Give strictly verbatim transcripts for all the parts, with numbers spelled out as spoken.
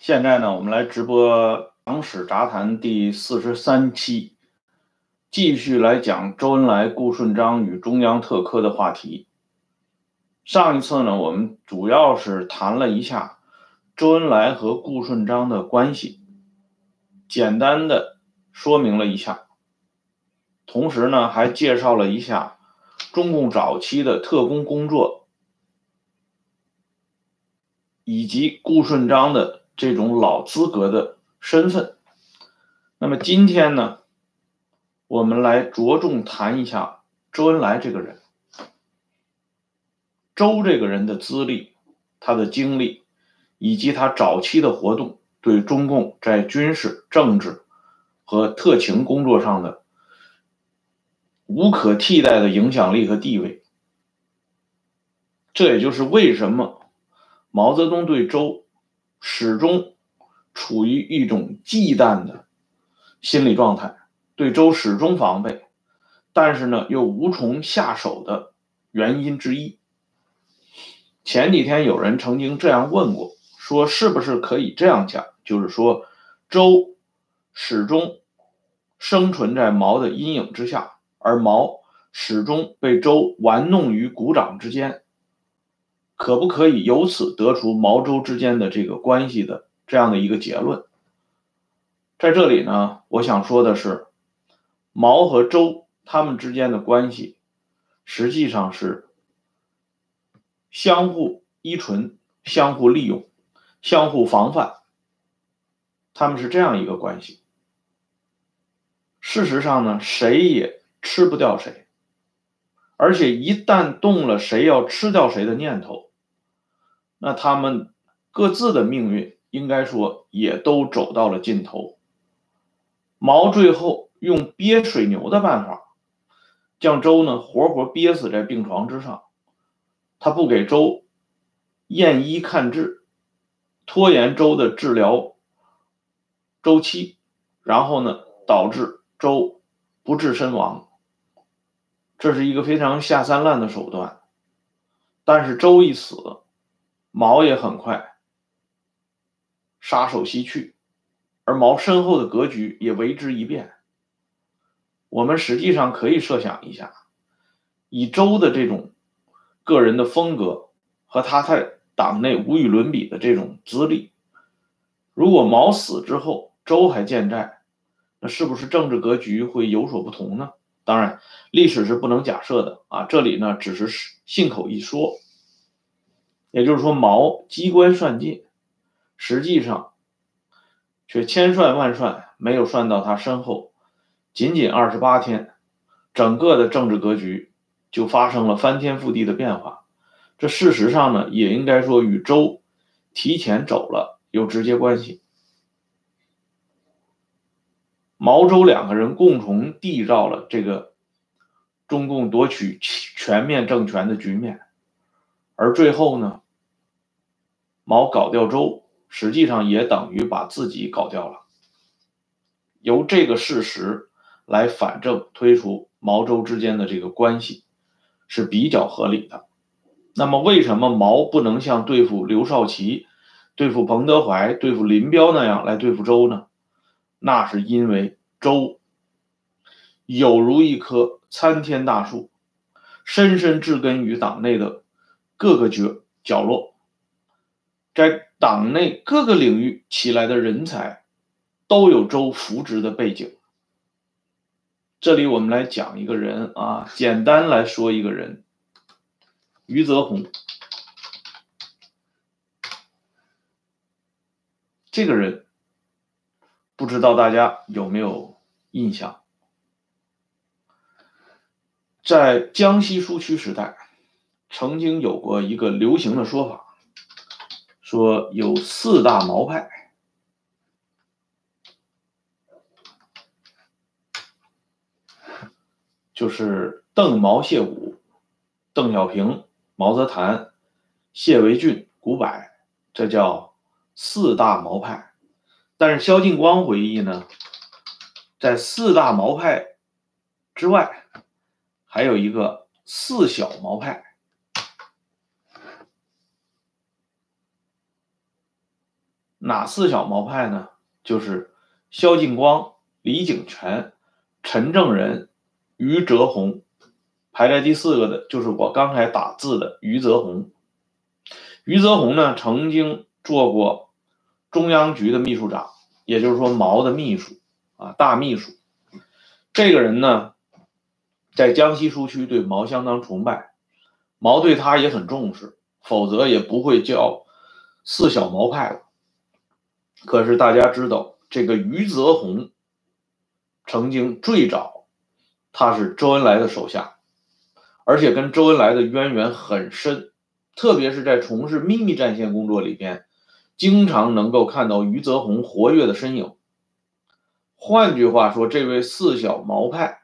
现在呢，我们来直播《党史杂谈》第四十三期，继续来讲周恩来、顾顺章与中央特科的话题。上一次呢，我们主要是谈了一下周恩来和顾顺章的关系，简单的说明了一下，同时呢，还介绍了一下中共早期的特工工作，以及顾顺章的这种老资格的身份。那么今天呢，我们来着重谈一下周恩来这个人。周这个人的资历、他的经历以及他早期的活动对中共在军事、政治和特情工作上的无可替代的影响力和地位。这也就是为什么毛泽东对周始终处于一种忌惮的心理状态，对周始终防备，但是呢又无从下手的原因之一。前几天有人曾经这样问过，说是不是可以这样讲，就是说周始终生存在毛的阴影之下，而毛始终被周玩弄于股掌之间，可不可以由此得出毛周之间的这个关系的这样的一个结论？在这里呢，我想说的是，毛和周他们之间的关系实际上是相互依存、相互利用、相互防范，他们是这样一个关系。事实上呢，谁也吃不掉谁，而且一旦动了谁要吃掉谁的念头，那他们各自的命运应该说也都走到了尽头。毛最后用憋水牛的办法，将周呢活活憋死在病床之上，他不给周验医看治，拖延周的治疗周期，然后呢导致周不治身亡。这是一个非常下三滥的手段。但是周一死，毛也很快杀手西去，而毛身后的格局也为之一变。我们实际上可以设想一下，以周的这种个人的风格和他在党内无与伦比的这种资历，如果毛死之后周还健在，那是不是政治格局会有所不同呢？当然历史是不能假设的啊，这里呢只是信口一说。也就是说，毛机关算尽，实际上却千算万算没有算到他身后，仅仅二十八天，整个的政治格局就发生了翻天覆地的变化。这事实上呢，也应该说与周提前走了有直接关系。毛周两个人共同缔造了这个中共夺取全面政权的局面，而最后呢，毛搞掉周，实际上也等于把自己搞掉了。由这个事实来反证推出毛周之间的这个关系是比较合理的。那么为什么毛不能像对付刘少奇、对付彭德怀、对付林彪那样来对付周呢？那是因为周有如一棵参天大树，深深植根于党内的各个角角落，在党内各个领域起来的人才都有周扶植的背景。这里我们来讲一个人啊，简单来说一个人，余则红。这个人不知道大家有没有印象？在江西苏区时代，曾经有过一个流行的说法，说有四大毛派。就是邓毛谢武、邓小平、毛泽谭、谢维俊、古柏，这叫四大毛派。但是萧劲光回忆呢，在四大毛派之外，还有一个四小毛派。 哪四小毛派呢？就是萧劲光、李景全、陈正仁、余则红，排在第四个的就是我刚才打字的余则红。余则红呢，曾经做过中央局的秘书长，也就是说毛的秘书啊，大秘书。这个人呢，在江西苏区对毛相当崇拜，毛对他也很重视，否则也不会叫四小毛派了。可是大家知道，这个余则红曾经最早他是周恩来的手下，而且跟周恩来的渊源很深，特别是在从事秘密战线工作里边，经常能够看到余则红活跃的身影。换句话说，这位四小毛派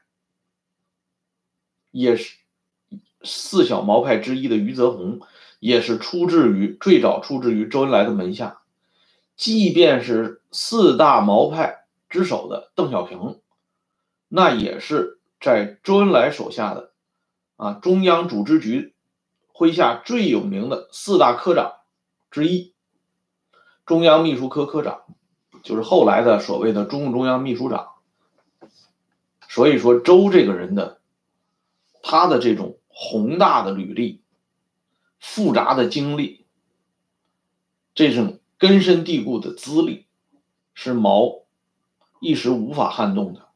也是四小毛派之一的余则红，也是出自于最早出自于周恩来的门下。即便是四大毛派之首的邓小平，那也是在周恩来手下的啊中央组织局麾下最有名的四大科长之一，中央秘书科科长，就是后来的所谓的中共中央秘书长。所以说周这个人的他的这种宏大的履历、复杂的经历、这种根深蒂固的资历，是毛一时无法撼动的。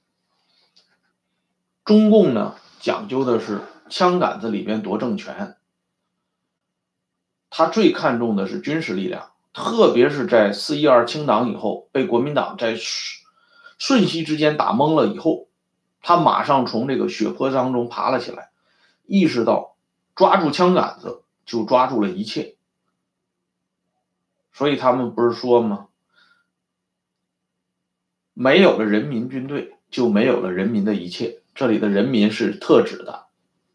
中共呢，讲究的是枪杆子里边夺政权，他最看重的是军事力量，特别是在四一二清党以后，被国民党在瞬息之间打懵了以后，他马上从这个血泊当中爬了起来，意识到抓住枪杆子就抓住了一切。所以他们不是说吗？没有了人民军队，就没有了人民的一切。这里的人民是特指的。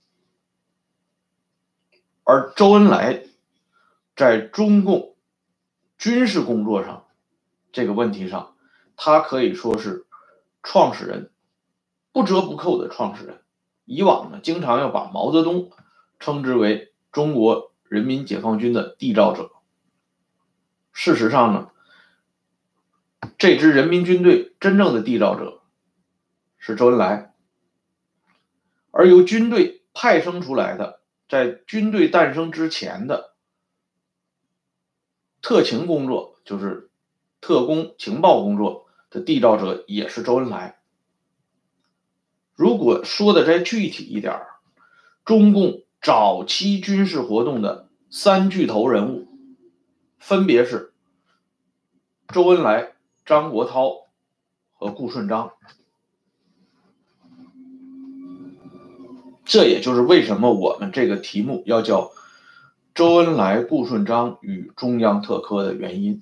而周恩来在中共军事工作上这个问题上，他可以说是创始人，不折不扣的创始人。以往呢，经常要把毛泽东称之为中国人民解放军的缔造者。事实上呢，这支人民军队真正的缔造者是周恩来，而由军队派生出来的，在军队诞生之前的特情工作，就是特工情报工作的缔造者也是周恩来。如果说的再具体一点，中共早期军事活动的三巨头人物分别是周恩来、张国焘和顾顺章。这也就是为什么我们这个题目要叫周恩来、顾顺章与中央特科的原因。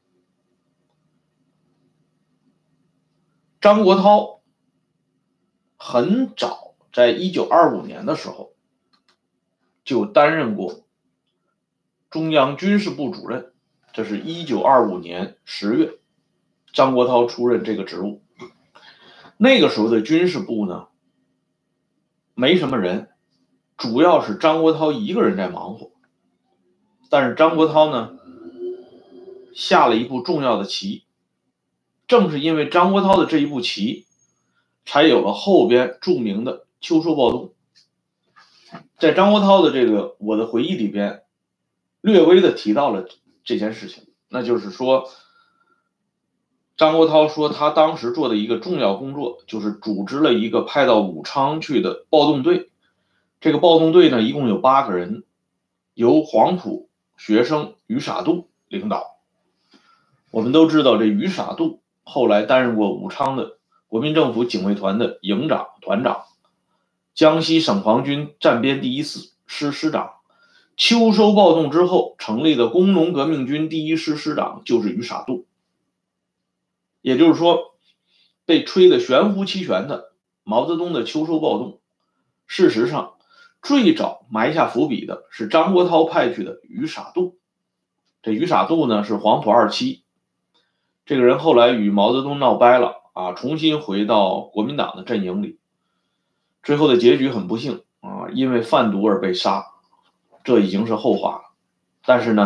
张国焘很早，在一九二五年的时候就担任过中央军事部主任，这是一九二五年十月，张国焘出任这个职务。那个时候的军事部呢，没什么人，主要是张国焘一个人在忙活。但是张国焘呢，下了一步重要的棋，正是因为张国焘的这一步棋，才有了后边著名的秋收暴动。在张国焘的这个我的回忆里边，略微的提到了这件事情，那就是说，张国焘说他当时做的一个重要工作，就是组织了一个派到武昌去的暴动队。这个暴动队呢，一共有八个人，由黄埔学生于傻度领导。我们都知道，这于傻度后来担任过武昌的国民政府警卫团的营长、团长，江西省防军战边第一师师长。秋收暴动之后成立的工农革命军第一师师长就是于傻度。也就是说，被吹得玄乎其玄的毛泽东的秋收暴动，事实上最早埋下伏笔的是张国焘派去的于傻度。这于傻度呢，是黄埔二期，这个人后来与毛泽东闹掰了啊，重新回到国民党的阵营里，最后的结局很不幸啊，因为贩毒而被杀，这已经是后话了。但是呢，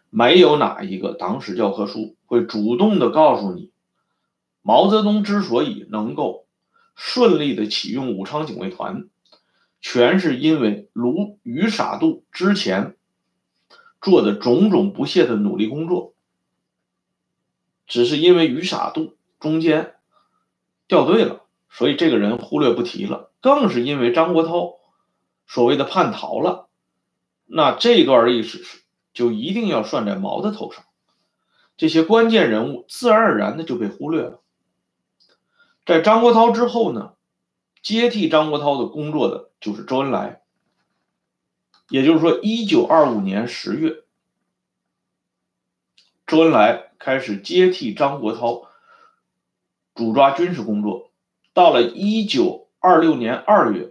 没有哪一个党史教科书会主动的告诉你，毛泽东之所以能够顺利的启用武昌警卫团，全是因为卢于傻度之前做的种种不懈的努力工作，只是因为于傻度中间掉队了，所以这个人忽略不提了。更是因为张国焘所谓的叛逃了，那这段历史就一定要算在毛的头上，这些关键人物自然而然的就被忽略了。在张国焘之后呢，接替张国焘的工作的就是周恩来。也就是说一九二五年十月，周恩来开始接替张国焘主抓军事工作。到了一九二六年二月，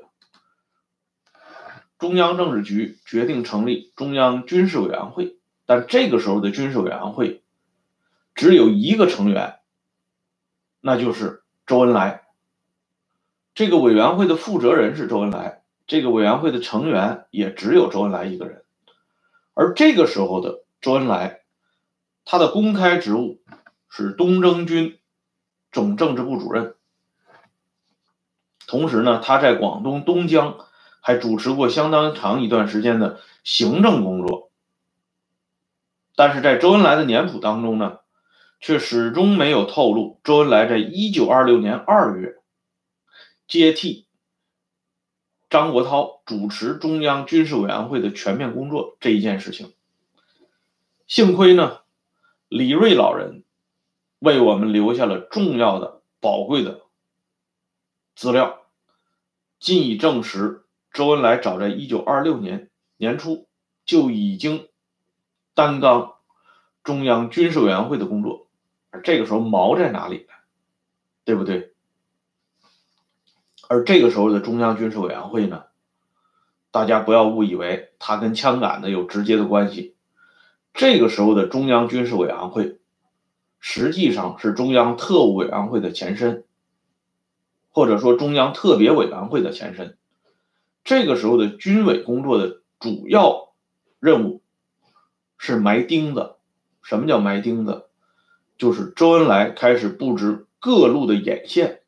中央政治局决定成立中央军事委员会，但这个时候的军事委员会只有一个成员，那就是周恩来。这个委员会的负责人是周恩来，这个委员会的成员也只有周恩来一个人。而这个时候的周恩来，他的公开职务是东征军总政治部主任，同时呢，他在广东东江还主持过相当长一段时间的行政工作。但是在周恩来的年谱当中呢，却始终没有透露周恩来在一九二六年二月接替张国焘主持中央军事委员会的全面工作这一件事情。幸亏呢，李瑞老人为我们留下了重要的宝贵的资料，进以证实周恩来早在一九二六年年初就已经担纲中央军事委员会的工作。而这个时候毛在哪里呢？对不对？而这个时候的中央军事委员会呢，大家不要误以为它跟枪杆子有直接的关系。这个时候的中央军事委员会实际上是中央特务委员会的前身，或者说中央特别委员会的前身。这个时候的军委工作的主要任务是埋钉子。什么叫埋钉子？就是周恩来开始布置各路的眼线，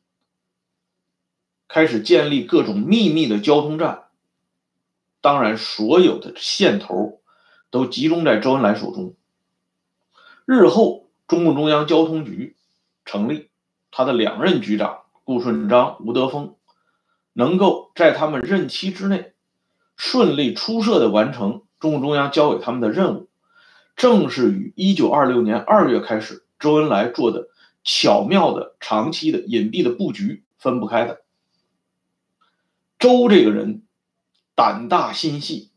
开始建立各种秘密的交通站。当然所有的线头都集中在周恩来手中。日后中共中央交通局成立，他的两任局长顾顺章、吴德峰能够在他们任期之内顺利出色的完成中共中央交给他们的任务，正是与一九二六年二月开始周恩来做的巧妙的长期的隐蔽的布局分不开的。周这个人胆大心细，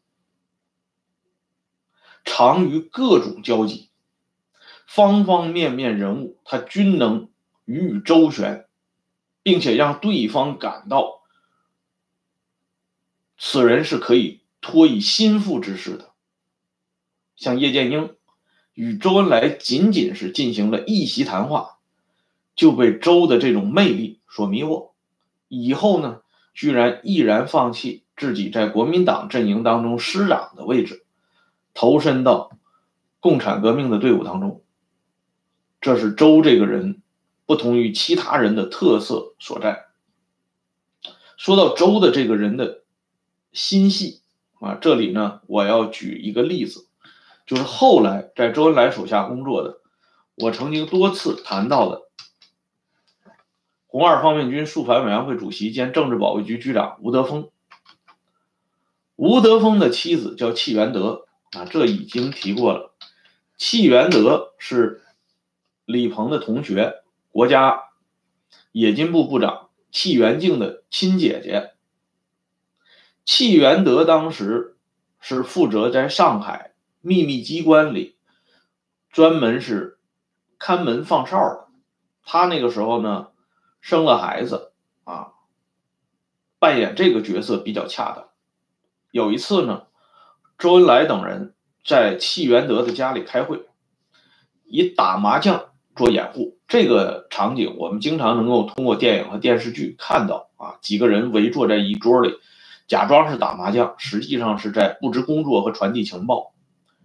常与各种交集，方方面面人物他均能予以周旋，并且让对方感到此人是可以托以心腹之事的。像叶剑英与周恩来仅仅是进行了一席谈话，就被周的这种魅力所迷惑，以后呢，居然毅然放弃自己在国民党阵营当中师长的位置，投身到共产革命的队伍当中。这是周这个人不同于其他人的特色所在。说到周的这个人的心细啊，这里呢，我要举一个例子，就是后来在周恩来手下工作的，我曾经多次谈到的红二方面军肃反委员会主席兼政治保卫局局长吴德峰。吴德峰的妻子叫戚元德啊，这已经提过了。戚元德是李鹏的同学，国家冶金部部长戚元敬的亲姐姐。戚元德当时是负责在上海秘密机关里专门是看门放哨的。他那个时候呢生了孩子啊，扮演这个角色比较恰当。有一次呢，周恩来等人在戚元德的家里开会，以打麻将做掩护。这个场景我们经常能够通过电影和电视剧看到啊，几个人围坐在一桌里，假装是打麻将，实际上是在布置工作和传递情报。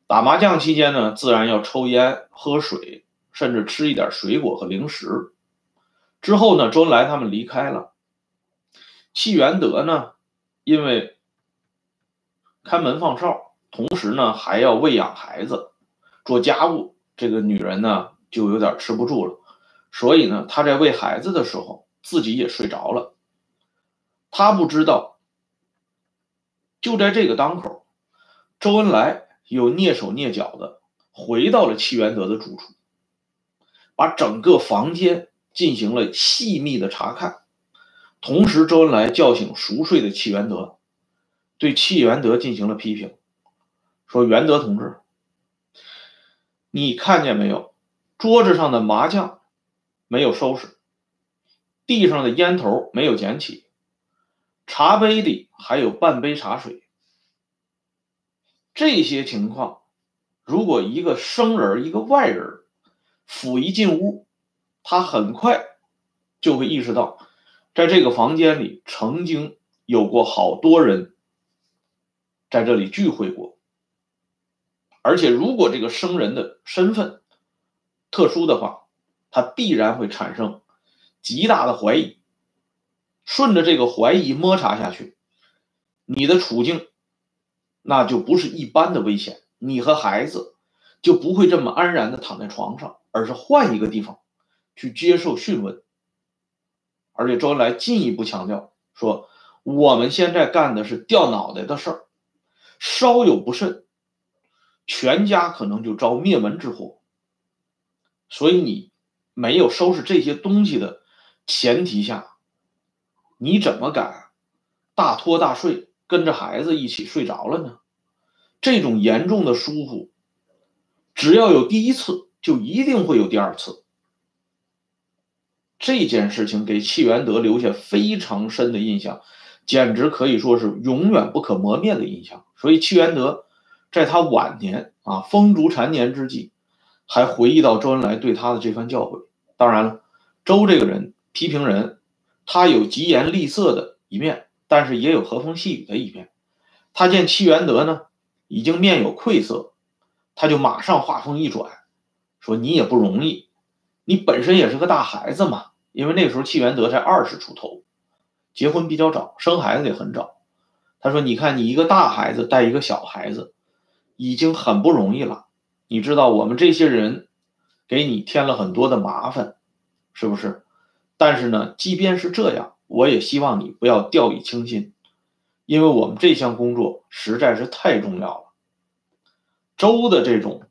打麻将期间呢，自然要抽烟、喝水，甚至吃一点水果和零食。之后呢，周恩来他们离开了，戚元德呢，因为看门放哨，同时呢还要喂养孩子、做家务，这个女人呢就有点吃不住了，所以呢，她在喂孩子的时候，自己也睡着了。她不知道，就在这个当口，周恩来又蹑手蹑脚的回到了戚元德的住处，把整个房间进行了细密的查看。同时，周恩来叫醒熟睡的戚元德，对戚元德进行了批评，说：“元德同志，你看见没有？桌子上的麻将没有收拾，地上的烟头没有捡起，茶杯里还有半杯茶水。这些情况，如果一个生人、一个外人甫一进屋，他很快就会意识到，在这个房间里曾经有过好多人在这里聚会过。而且如果这个生人的身份特殊的话，他必然会产生极大的怀疑。顺着这个怀疑摸查下去，你的处境那就不是一般的危险，你和孩子就不会这么安然的躺在床上，而是换一个地方去接受讯问。”而且周恩来进一步强调说，我们现在干的是掉脑袋的事儿，稍有不慎，全家可能就遭灭门之祸。所以你没有收拾这些东西的前提下，你怎么敢大拖大睡，跟着孩子一起睡着了呢？这种严重的疏忽，只要有第一次，就一定会有第二次。这件事情给戚元德留下非常深的印象，简直可以说是永远不可磨灭的印象。所以戚元德在他晚年啊风烛残年之际，还回忆到周恩来对他的这番教诲。当然了，周这个人批评人，他有疾言厉色的一面，但是也有和风细雨的一面。他见戚元德呢已经面有愧色，他就马上话锋一转，说：“你也不容易，你本身也是个大孩子嘛。”因为那个时候戚元德才二十出头，结婚比较早，生孩子也很早。他说：“你看，你一个大孩子带一个小孩子，已经很不容易了。你知道我们这些人给你添了很多的麻烦，是不是？但是呢，即便是这样，我也希望你不要掉以轻心，因为我们这项工作实在是太重要了。”周的这种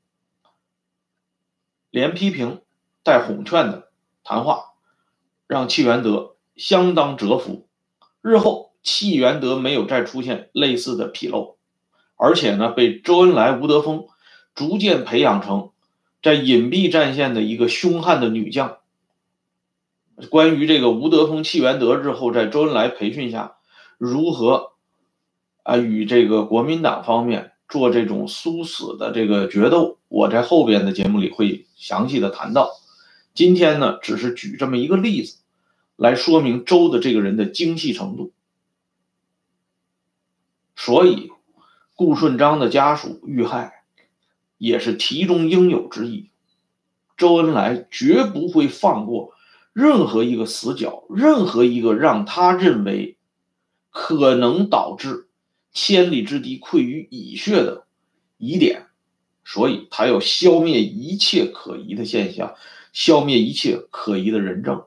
连批评带哄劝的谈话，让戚元德相当折服。日后戚元德没有再出现类似的纰漏，而且呢，被周恩来、吴德峰逐渐培养成在隐蔽战线的一个凶悍的女将。关于这个吴德峰、戚元德日后在周恩来培训下如何啊与这个国民党方面做这种殊死的这个决斗，我在后边的节目里会详细的谈到。今天呢，只是举这么一个例子来说明周的这个人的精细程度。所以顾顺章的家属遇害也是题中应有之义。周恩来绝不会放过任何一个死角，任何一个让他认为可能导致千里之敌溃于蚁穴的疑点，所以他要消灭一切可疑的现象，消灭一切可疑的人证。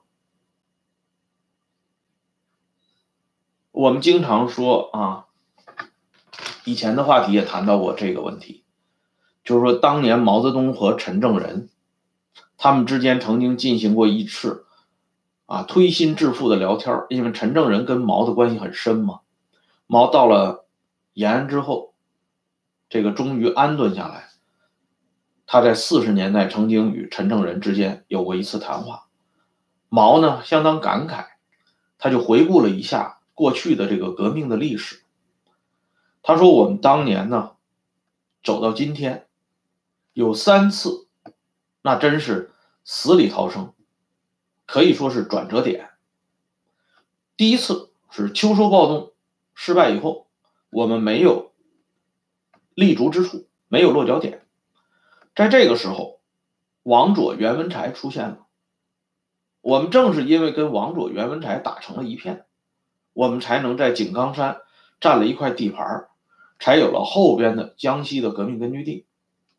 我们经常说啊，以前的话题也谈到过这个问题，就是说当年毛泽东和陈正仁他们之间曾经进行过一次啊推心置腹的聊天，因为陈正仁跟毛的关系很深嘛。毛到了延安之后，这个终于安顿下来，他在四十年代曾经与陈正仁之间有过一次谈话。毛呢相当感慨，他就回顾了一下过去的这个革命的历史。他说，我们当年呢走到今天有三次，那真是死里逃生，可以说是转折点。第一次是秋收暴动失败以后，我们没有立足之处， 没有落脚点。在这个时候，王佐、袁文才出现了。我们正是因为跟王佐、袁文才打成了一片，我们才能在井冈山占了一块地盘，才有了后边的江西的革命根据地。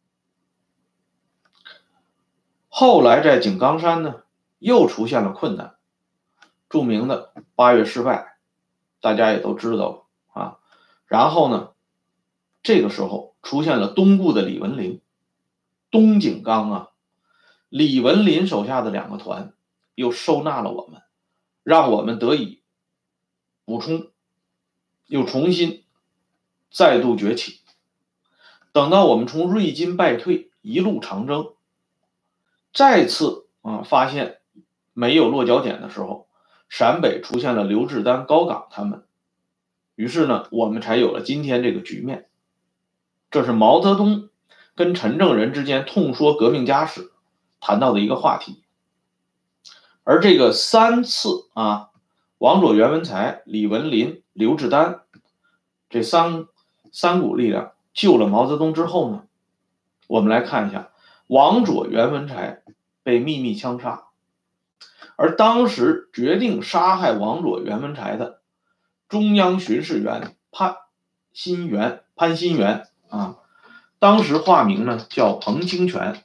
后来在井冈山呢，又出现了困难，著名的八月失败，大家也都知道了啊。然后呢，这个时候出现了东顾的李文林，东井冈啊，李文林手下的两个团又收纳了我们，让我们得以补充，又重新再度崛起。等到我们从瑞金败退，一路长征，再次啊发现没有落脚点的时候，陕北出现了刘志丹、高岗他们，于是呢，我们才有了今天这个局面。这是毛泽东跟陈正仁之间痛说革命家史谈到的一个话题。而这个三次啊，王佐、袁文才、李文林、刘志丹这三三股力量救了毛泽东之后呢，我们来看一下，王佐、袁文才被秘密枪杀，而当时决定杀害王佐、袁文才的中央巡视员潘新元潘新元啊，当时化名呢叫彭清泉。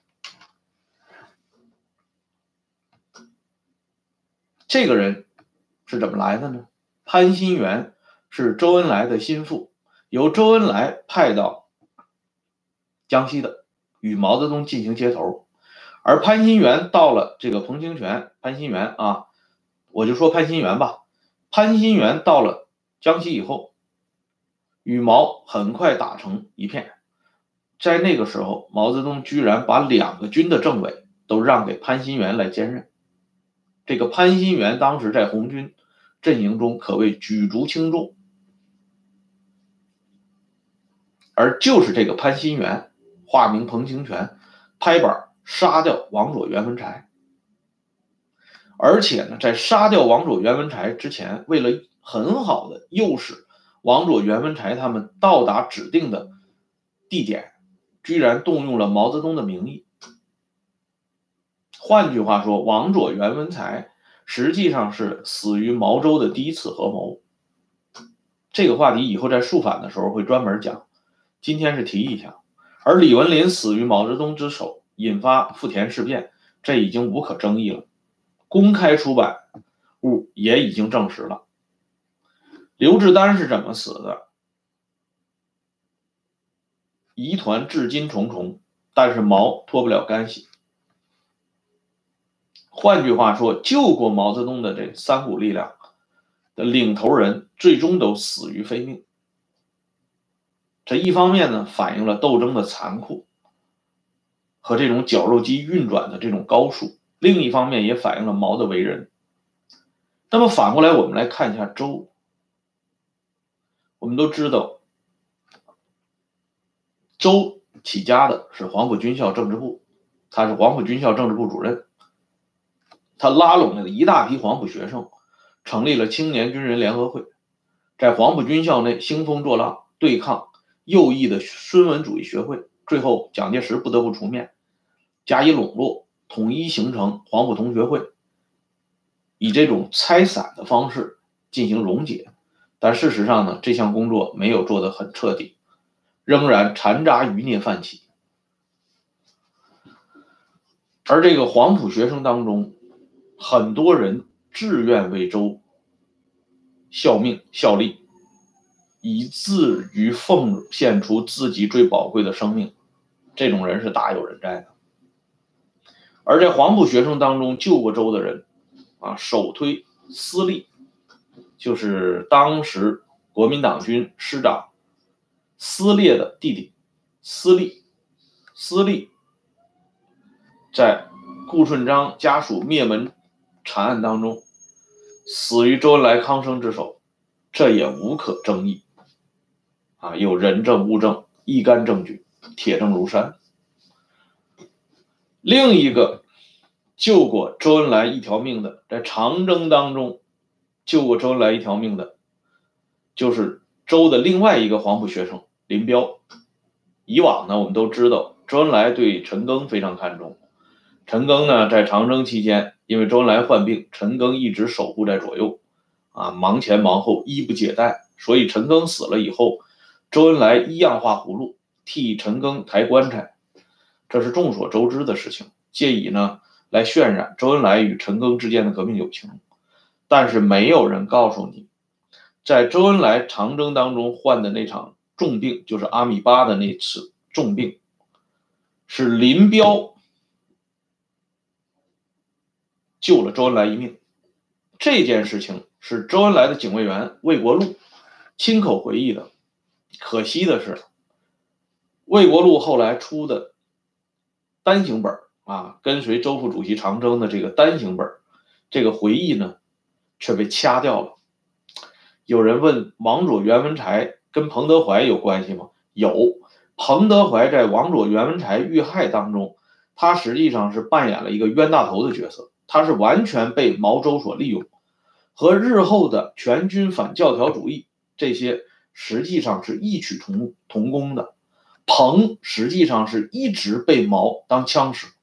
这个人是怎么来的呢？潘新元是周恩来的心腹，由周恩来派到江西的，与毛泽东进行接头。而潘新元到了这个彭清泉，潘新元啊，我就说潘新元吧。潘新元到了江西以后，与毛很快打成一片。在那个时候，毛泽东居然把两个军的政委都让给潘新元来兼任。这个潘新元当时在红军阵营中可谓举足轻重，而就是这个潘新元，化名彭清泉，拍板杀掉王佐、袁文才。而且呢，在杀掉王佐、袁文才之前，为了很好的诱使王佐、袁文才他们到达指定的地点，居然动用了毛泽东的名义。换句话说，王佐、袁文才实际上是死于毛周的第一次合谋。这个话题以后在肃反的时候会专门讲，今天是提一下。而李文林死于毛泽东之手，引发富田事变，这已经无可争议了，公开出版物也已经证实了。刘志丹是怎么死的？疑团至今重重，但是毛脱不了干系。换句话说，救过毛泽东的这三股力量的领头人最终都死于非命。这一方面呢，反映了斗争的残酷和这种绞肉机运转的这种高速，另一方面也反映了毛的为人。那么反过来我们来看一下周。我们都知道周起家的是黄埔军校政治部，他是黄埔军校政治部主任，他拉拢了一大批黄埔学生，成立了青年军人联合会，在黄埔军校内兴风作浪，对抗右翼的孙文主义学会，最后蒋介石不得不出面加以笼络，统一形成黄埔同学会，以这种拆散的方式进行溶解。但事实上呢，这项工作没有做得很彻底，仍然残渣余孽泛起。而这个黄埔学生当中，很多人自愿为周效命效力，以至于奉献出自己最宝贵的生命，这种人是大有人在的。而在黄埔学生当中救过周的人啊，首推司隶，就是当时国民党军师长司烈的弟弟司隶。司隶在顾顺章家属灭门惨案当中死于周恩来、康生之手，这也无可争议啊，有人证物证，一干证据，铁证如山。另一个救过周恩来一条命的，在长征当中救过周恩来一条命的，就是周的另外一个黄埔学生林彪， 以往呢，我们都知道周恩来对陈赓非常看重。陈赓呢，在长征期间，因为周恩来患病，陈赓一直守护在左右，啊，忙前忙后，衣不解带。所以陈赓死了以后，周恩来一样画葫芦，替陈赓抬棺材，这是众所周知的事情。借以呢，来渲染周恩来与陈赓之间的革命友情。但是没有人告诉你，在周恩来长征当中患的那场重病，就是阿米巴的那次重病，是林彪救了周恩来一命。这件事情是周恩来的警卫员魏国禄亲口回忆的。可惜的是，魏国禄后来出的单行本啊，跟随周副主席长征的这个单行本，这个回忆呢，却被掐掉了。有人问王佐、袁文才跟彭德怀有关系吗？有。彭德怀在王佐、袁文才遇害当中，他实际上是扮演了一个冤大头的角色，他是完全被毛周所利用，和日后的全军反教条主义这些实际上是异曲同同工的。彭实际上是一直被毛当枪使，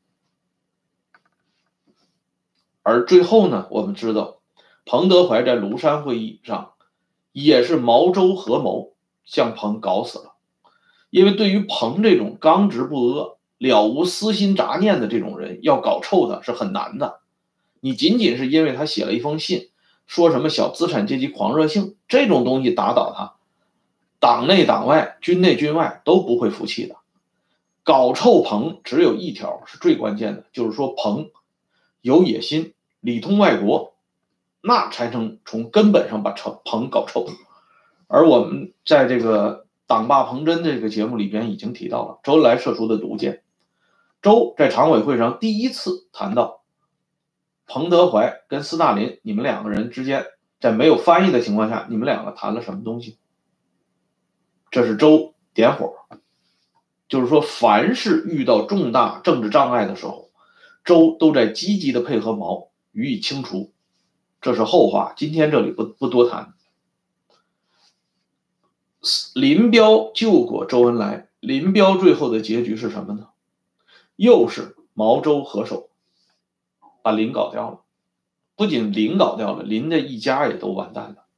而最后呢，我们知道彭德怀在庐山会议上也是毛周合谋将彭搞死了。因为对于彭这种刚直不阿、了无私心杂念的这种人，要搞臭他是很难的。你仅仅是因为他写了一封信，说什么小资产阶级狂热性，这种东西打倒他，党内党外、军内军外都不会服气的。搞臭彭只有一条是最关键的，就是说彭有野心，里通外国，那才能从根本上把彭搞臭。而我们在这个党霸彭真这个节目里边已经提到了周恩来射出的毒箭。周在常委会上第一次谈到彭德怀跟斯大林，你们两个人之间在没有翻译的情况下，你们两个谈了什么东西？这是周点火，就是说凡是遇到重大政治障碍的时候，周都在积极的配合毛予以清除。这是后话，今天这里不不多谈。林彪救过周恩来，林彪最后的结局是什么呢？又是毛周合手把林搞掉了。不仅林搞掉了，林的一家也都完蛋了。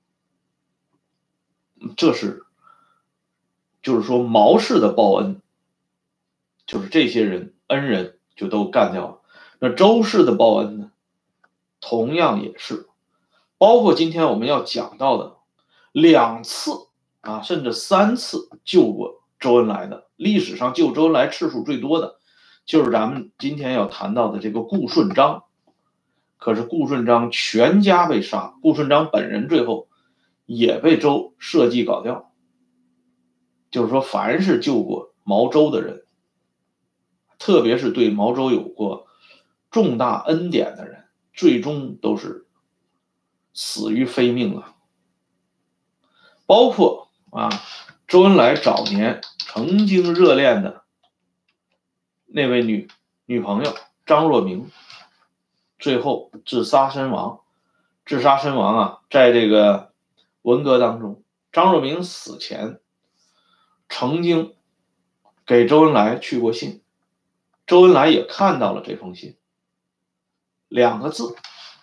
这是就是说毛氏的报恩，就是这些人恩人就都干掉了。那周氏的报恩呢，同样也是，包括今天我们要讲到的两次啊，甚至三次救过周恩来的，历史上救周恩来次数最多的就是咱们今天要谈到的这个顾顺章。可是顾顺章全家被杀，顾顺章本人最后也被周设计搞掉。就是说凡是救过毛周的人，特别是对毛周有过重大恩典的人，最终都是死于非命啊。包括啊，周恩来早年曾经热恋的那位女女朋友张若明，最后自杀身亡。自杀身亡啊，在这个文革当中，张若明死前曾经给周恩来去过信，周恩来也看到了这封信，两个字，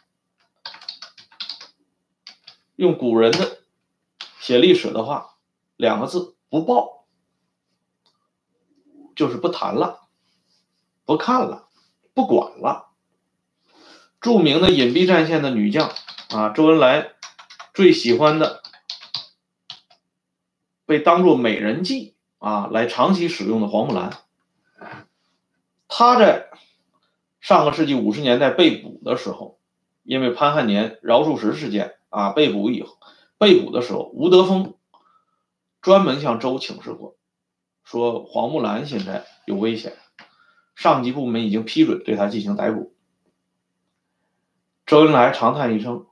用古人的写历史的话，两个字，不报，就是不谈了，不看了，不管了。著名的隐蔽战线的女将啊，周恩来最喜欢的，被当作美人计啊来长期使用的黄木兰，她在上个世纪五十年代被捕的时候，因为潘汉年饶漱石事件啊被捕以后，被捕的时候，吴德峰专门向周请示过，说黄木兰现在有危险，上级部门已经批准对她进行逮捕。周恩来长叹一声，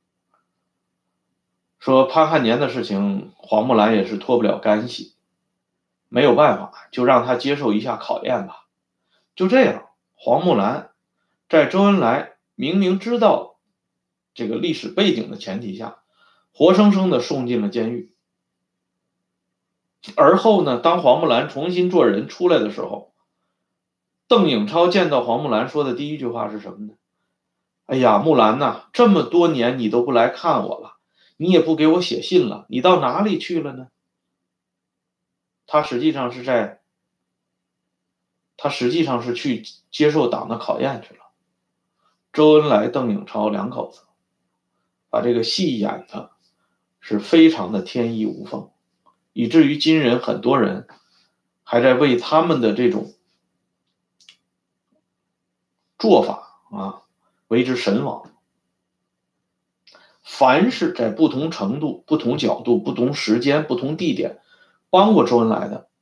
说潘汉年的事情黄木兰也是脱不了干系，没有办法，就让他接受一下考验吧。就这样，黄木兰在周恩来明明知道这个历史背景的前提下，活生生的送进了监狱。 而后呢，当黄木兰重新做人出来的时候，邓颖超见到黄木兰说的第一句话是什么呢？哎呀，木兰呐，这么多年你都不来看我了，你也不给我写信了，你到哪里去了呢？他实际上是在，他实际上是去接受党的考验去了。周恩来、邓颖超两口子把这个戏演的是非常的天衣无缝，以至于今人很多人还在为他们的这种做法啊为之神往。凡是在不同程度、不同角度、不同时间、不同地点帮过周恩来的，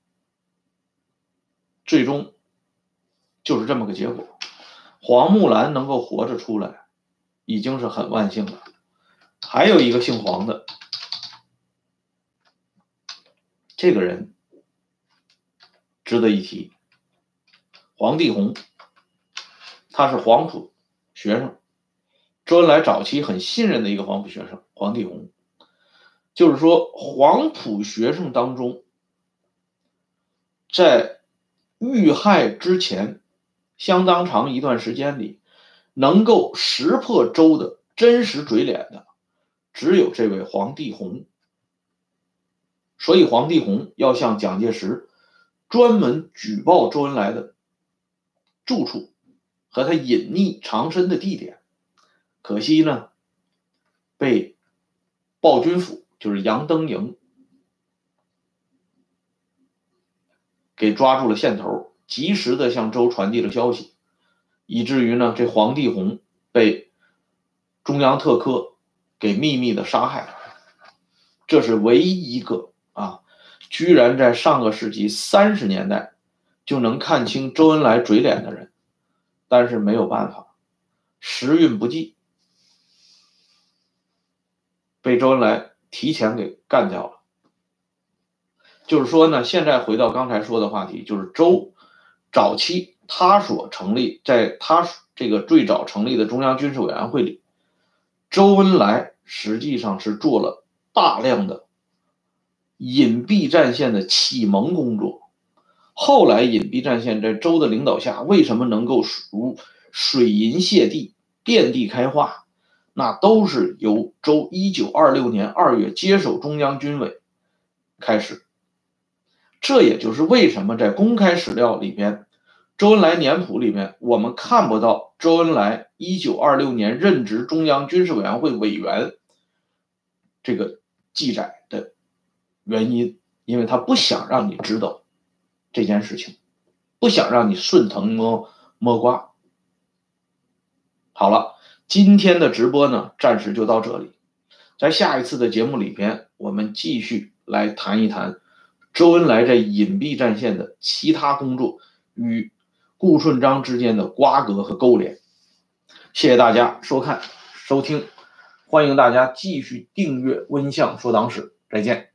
最终就是这么个结果。黄木兰能够活着出来，已经是很万幸了。还有一个姓黄的，这个人值得一提，黄帝红，他是黄埔学生，周恩来早期很信任的一个黄埔学生，黄帝红。就是说，黄埔学生当中，在遇害之前相当长一段时间里，能够识破周的真实嘴脸的，只有这位黄帝红。所以黄帝红要向蒋介石专门举报周恩来的住处和他隐匿藏身的地点。可惜呢，被鲍军府，就是杨登营给抓住了线头，及时的向周传递了消息，以至于呢，这黄帝红被中央特科给秘密的杀害了。这是唯一一个啊，居然在上个世纪三十年代就能看清周恩来嘴脸的人。但是没有办法，时运不济，被周恩来提前给干掉了。就是说呢，现在回到刚才说的话题，就是周早期他所成立，在他这个最早成立的中央军事委员会里，周恩来实际上是做了大量的隐蔽战线的启蒙工作。后来隐蔽战线在周的领导下，为什么能够如水银泻地，遍地开花，那都是由周一九二六年二月接手中央军委开始。这也就是为什么在公开史料里边，周恩来年谱里面我们看不到周恩来一九二六年任职中央军事委员会委员这个记载的原因，因为他不想让你知道这件事情，不想让你顺藤摸摸瓜。好了，今天的直播呢，暂时就到这里。在下一次的节目里边，我们继续来谈一谈周恩来在隐蔽战线的其他工作与顾顺章之间的瓜葛和勾连。谢谢大家收看收听，欢迎大家继续订阅温相说党史，再见。